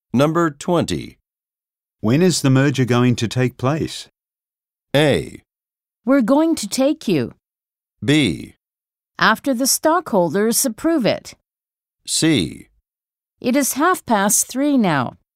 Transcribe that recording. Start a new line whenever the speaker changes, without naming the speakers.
Number 20.
When is the merger going to take place?
A.
We're going to take you.
B.
After the stockholders approve it.
C.
It is 3:30 now.